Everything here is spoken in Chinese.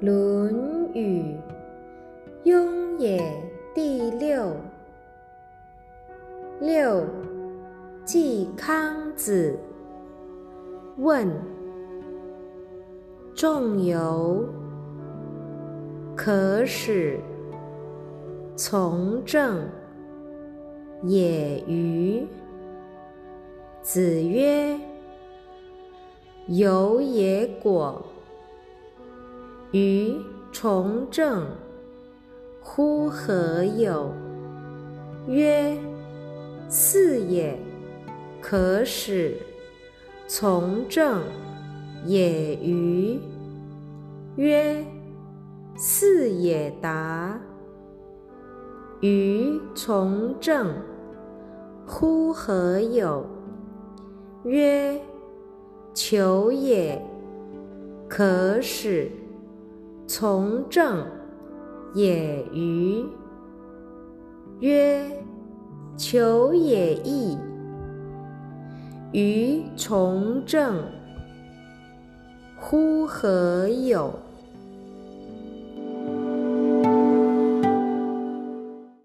论语雍也第六。六，季康子问：仲由，可使从政也与？子曰：由也果，于从政，乎何有？曰：是也，可使从政也与？曰：是也达。于从政，乎何有？曰：求也，可使从政也与？曰：求也易，于从政，乎何有？